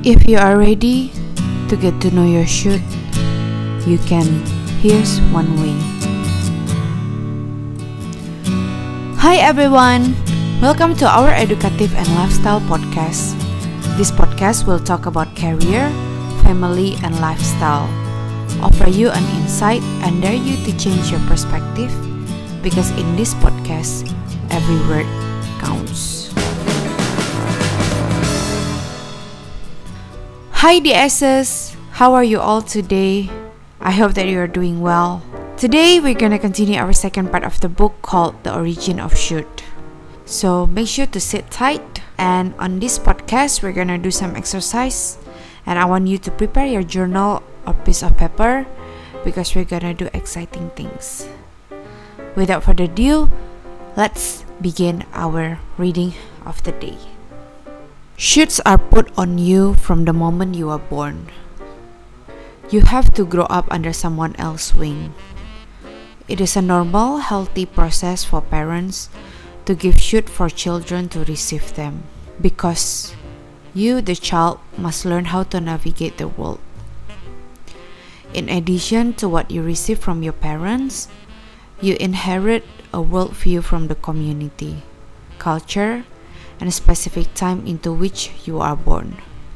If you are ready to get to know your should, you can. Here's one way. Hi everyone! Welcome to our Educative and Lifestyle podcast. This podcast will talk about career, family, and lifestyle. Offer you an insight and dare you to change your perspective because in this podcast, every word counts. Hi DSs! How are you all today? I hope that you are doing well. Today we're gonna continue our second part of the book called The Origin of Should. So make sure to sit tight, and on this podcast we're gonna do some exercise, and I want you to prepare your journal or piece of paper because we're gonna do exciting things. Without further ado, let's begin our reading of the day. Shoulds are put on you from the moment you are born. You have to grow up under someone else's wing. It is a normal, healthy process for parents to give should for children to receive them, because you, the child, must learn how to navigate the world. In addition to what you receive from your parents, you inherit a worldview from the community, culture, and a specific time into which you are born.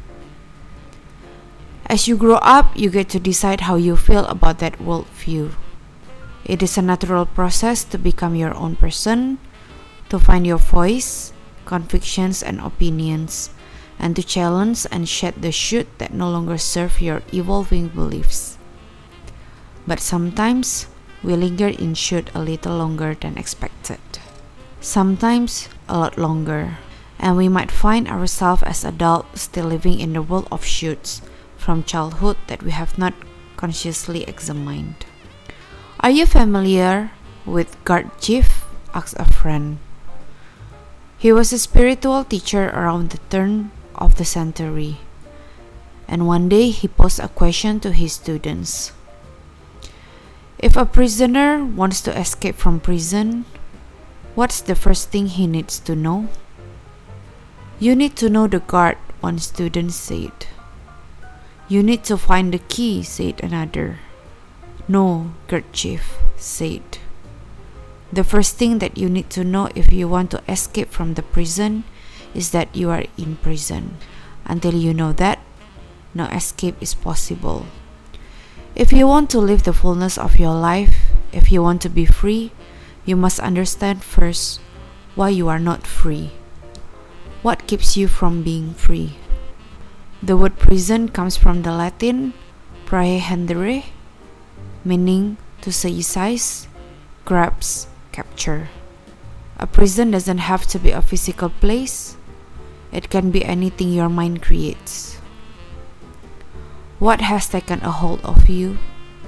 As you grow up, you get to decide how you feel about that worldview. It is a natural process to become your own person, to find your voice, convictions, and opinions, and to challenge and shed the should that no longer serve your evolving beliefs. But sometimes, we linger in should a little longer than expected. Sometimes, a lot longer. And we might find ourselves as adults still living in the world of shoulds from childhood that we have not consciously examined. Are you familiar with Gurdjieff? Asked a friend. He was a spiritual teacher around the turn of the century, and one day he posed a question to his students. If a prisoner wants to escape from prison, what's the first thing he needs to know? You need to know the guard, one student said. You need to find the key, said another. No, Gurdjieff said. The first thing that you need to know if you want to escape from the prison is that you are in prison. Until you know that, no escape is possible. If you want to live the fullness of your life, if you want to be free, you must understand first why you are not free. What keeps you from being free? The word prison comes from the Latin praehendere, meaning to seize, grasp, capture. A prison doesn't have to be a physical place. It can be anything your mind creates. What has taken a hold of you?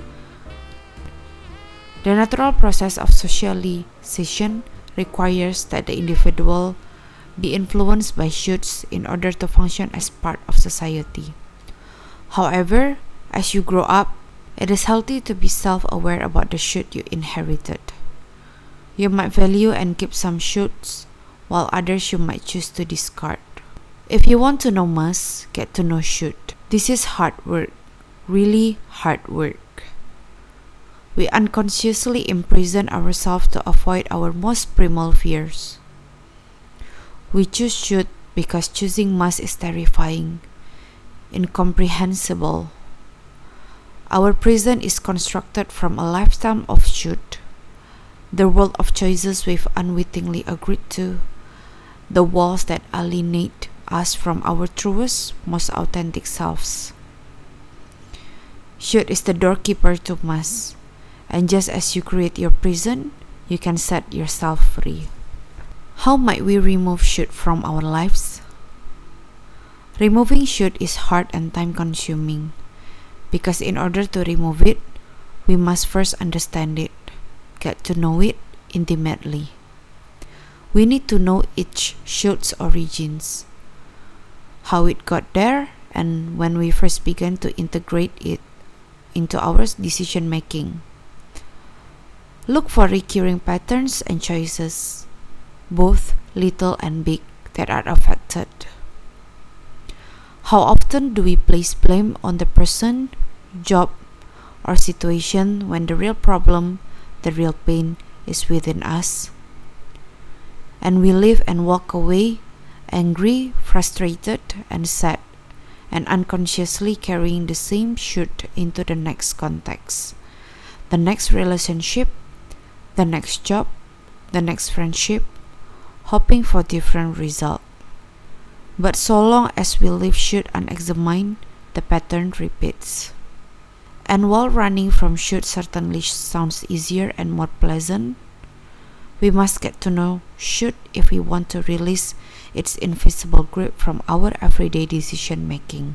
The natural process of socialization requires that the individual be influenced by shoulds in order to function as part of society. However, as you grow up, it is healthy to be self-aware about the should you inherited. You might value and keep some shoulds, while others you might choose to discard. If you want to know must, get to know should. This is hard work, really hard work. We unconsciously imprison ourselves to avoid our most primal fears. We choose should because choosing must is terrifying, incomprehensible. Our prison is constructed from a lifetime of should, the world of choices we've unwittingly agreed to, the walls that alienate us from our truest, most authentic selves. Should is the doorkeeper to must, and just as you create your prison, you can set yourself free. How might we remove should from our lives? Removing should is hard and time-consuming, because in order to remove it, we must first understand it, get to know it intimately. We need to know each should's origins, how it got there, and when we first began to integrate it into our decision-making. Look for recurring patterns and choices, both little and big, that are affected. How often do we place blame on the person, job, or situation when the real problem, the real pain is within us? And we live and walk away angry, frustrated, and sad, and unconsciously carrying the same should into the next context, the next relationship, the next job, the next friendship, hoping for different result. But so long as we leave should unexamined, the pattern repeats. And while running from should certainly sounds easier and more pleasant, we must get to know should if we want to release its invisible grip from our everyday decision making.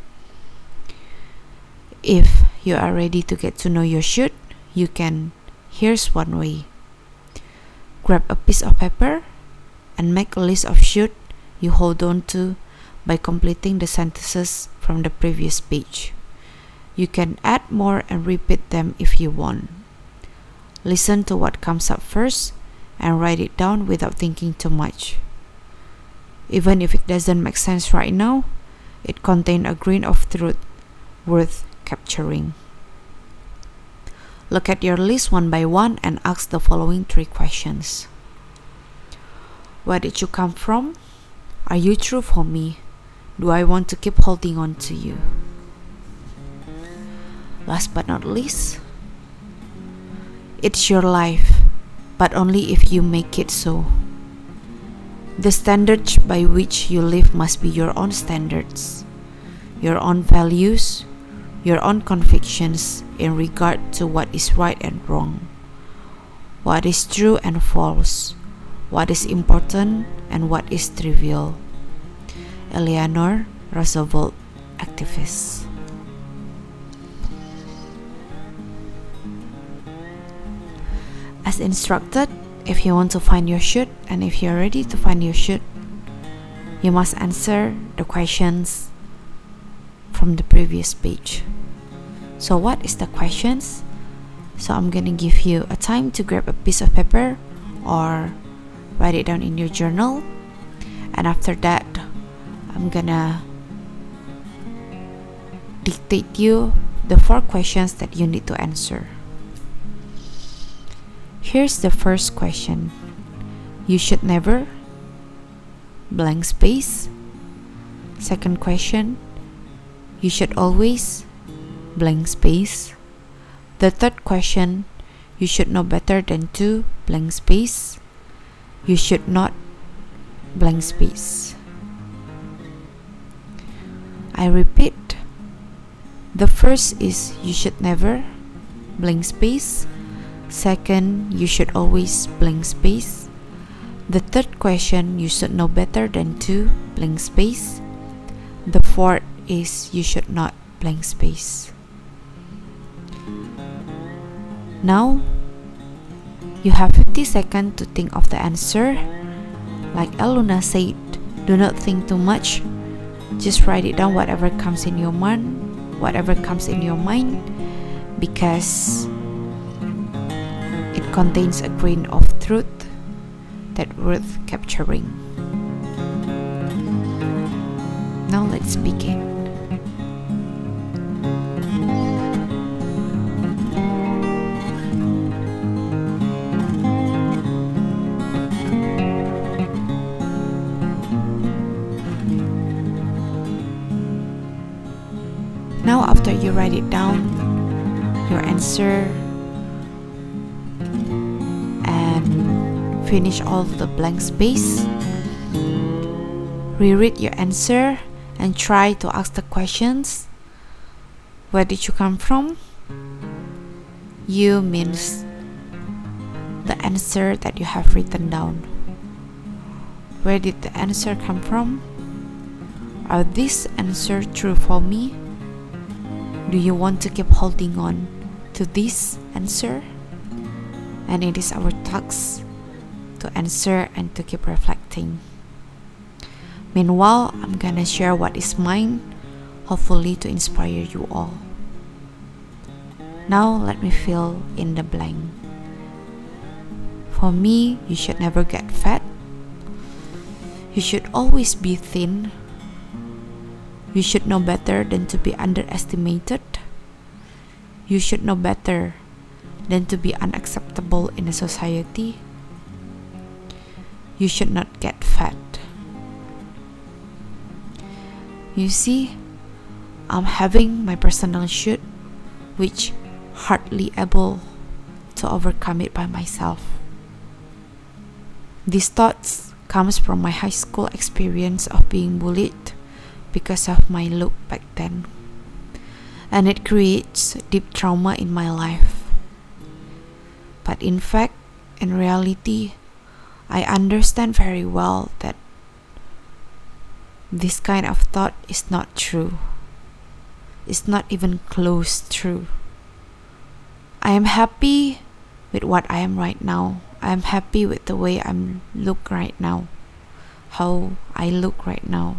If you are ready to get to know your should, you can. Here's one way. Grab a piece of paper and make a list of should you hold on to by completing the sentences from the previous page. You can add more and repeat them if you want. Listen to what comes up first and write it down without thinking too much. Even if it doesn't make sense right now, it contains a grain of truth worth capturing. Look at your list one by one and ask the following 3 questions. Where did you come from? Are you true for me? Do I want to keep holding on to you? Last but not least, it's your life, but only if you make it so. The standards by which you live must be your own standards, your own values, your own convictions in regard to what is right and wrong, what is true and false, what is important and what is trivial. Eleanor Roosevelt, activist. As instructed, if you want to find your should and if you're ready to find your should, you must answer the questions from the previous page. So what is the questions? So I'm gonna give you a time to grab a piece of paper or write it down in your journal, and after that I'm gonna dictate you the 4 questions that you need to answer. Here's the first question. You should never blank space. Second question. You should always blank space. The third question. You should know better than to blank space. You should not blank space. I repeat. The first is you should never blank space. Second, you should always blank space. The third question, you should know better than to blank space. The fourth is you should not blank space. Now, you have 50 seconds to think of the answer. Like Eluna said, do not think too much. Just write it down whatever comes in your mind, because it contains a grain of truth that worth capturing. Now let's begin. Now after you write it down, your answer, finish all the blank space, reread your answer and try to ask the questions. Where did you come from? You means the answer that you have written down. Where did the answer come from? Are these answers true for me? Do you want to keep holding on to this answer? And it is our task to answer and to keep reflecting. Meanwhile, I'm gonna share what is mine, hopefully to inspire you all. Now let me fill in the blank. For me, you should never get fat. You should always be thin. You should know better than to be underestimated. You should know better than to be unacceptable in a society. You should not get fat. You see, I'm having my personal shoot, which hardly able to overcome it by myself. These thoughts comes from my high school experience of being bullied because of my look back then, and it creates deep trauma in my life. But in fact, in reality, I understand very well that this kind of thought is not true. It's not even close true. I am happy with what I am right now. I am happy with the way I look right now, how I look right now.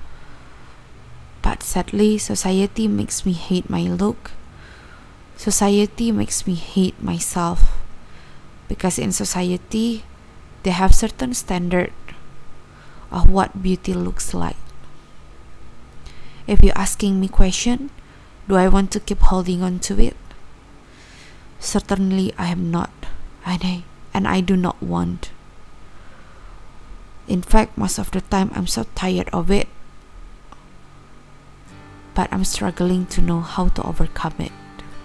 But sadly, society makes me hate my look. Society makes me hate myself. Because in society, they have certain standard of what beauty looks like. If you're asking me question, do I want to keep holding on to it? Certainly I am not, and I do not want. In fact, most of the time I'm so tired of it, but I'm struggling to know how to overcome it.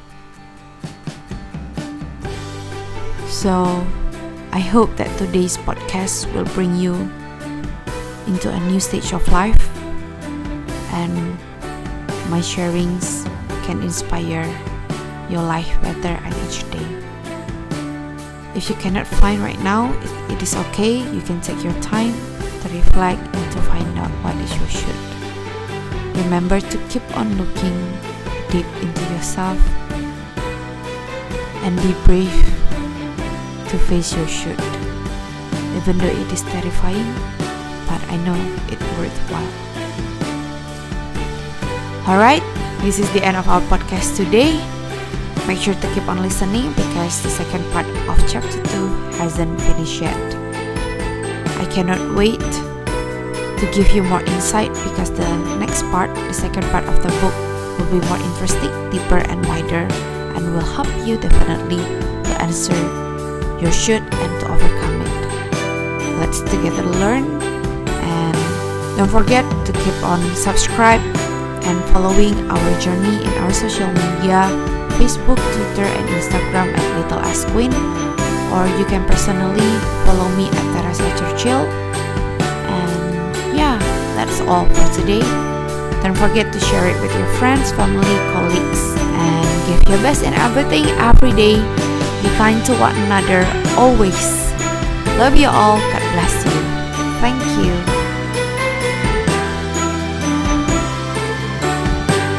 So, I hope that today's podcast will bring you into a new stage of life, and my sharings can inspire your life better at each day. If you cannot find right now, it is okay. You can take your time to reflect and to find out what is your should. Remember to keep on looking deep into yourself and be brave to face your should. Even though it is terrifying, but I know it's worthwhile. Alright, this is the end of our podcast today. Make sure to keep on listening because the second part of chapter 2 hasn't finished yet. I cannot wait to give you more insight because the next part, the second part of the book, will be more interesting, deeper and wider, and will help you definitely to answer your should and to overcome it. Let's together learn, and don't forget to keep on subscribe and following our journey in our social media, Facebook, Twitter, and Instagram at Little As Queen, or you can personally follow me at Teresa Churchill. And yeah, that's all for today. Don't forget to share it with your friends, family, colleagues, and give your best in everything every day. Be kind to one another always. Love you all. God bless you. Thank you.